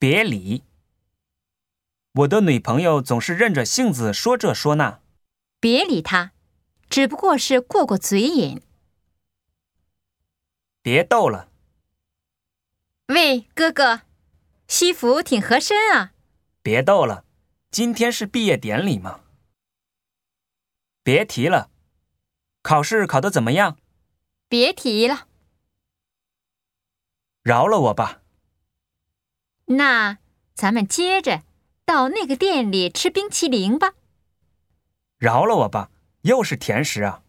别理。我的女朋友总是任着性子说这说那。 别理他，只不过是过过嘴瘾。 别逗了。 喂，哥哥，西服挺合身啊。 别逗了，今天是毕业典礼嘛。别提了，考试考得怎么样？ 别提了。 饶了我吧。 那咱们接着到那个店里吃冰淇淋吧。 饶了我吧，又是甜食啊。